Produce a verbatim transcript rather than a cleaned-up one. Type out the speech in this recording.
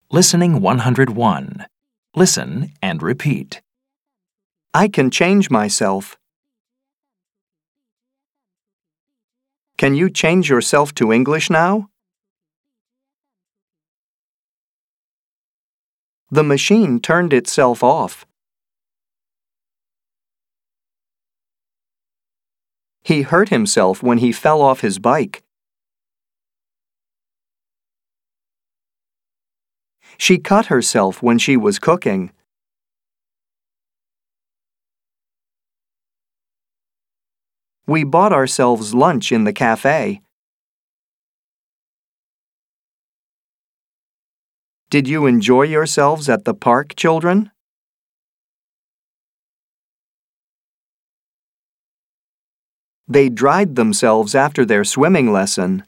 Listening one hundred one. Listen and repeat. I can change myself. Can you change yourself to English now? The machine turned itself off. He hurt himself when he fell off his bike. She cut herself when she was cooking. We bought ourselves lunch in the cafe. Did you enjoy yourselves at the park, children? They dried themselves after their swimming lesson.